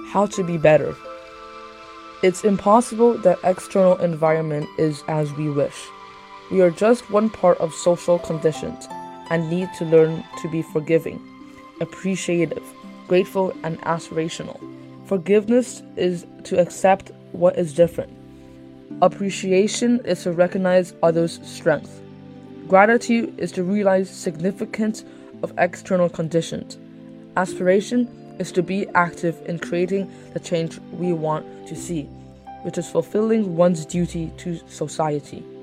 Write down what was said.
how to be better. It's impossible that external environment is as we wish. We are just one part of social conditions and need to learn to be forgiving, appreciative, grateful, and aspirational. Forgiveness is to accept what is different. Appreciation is to recognize others' strength. Gratitude is to realize significance of external conditions. Aspiration is to be active in creating the change we want to see, which is fulfilling one's duty to society.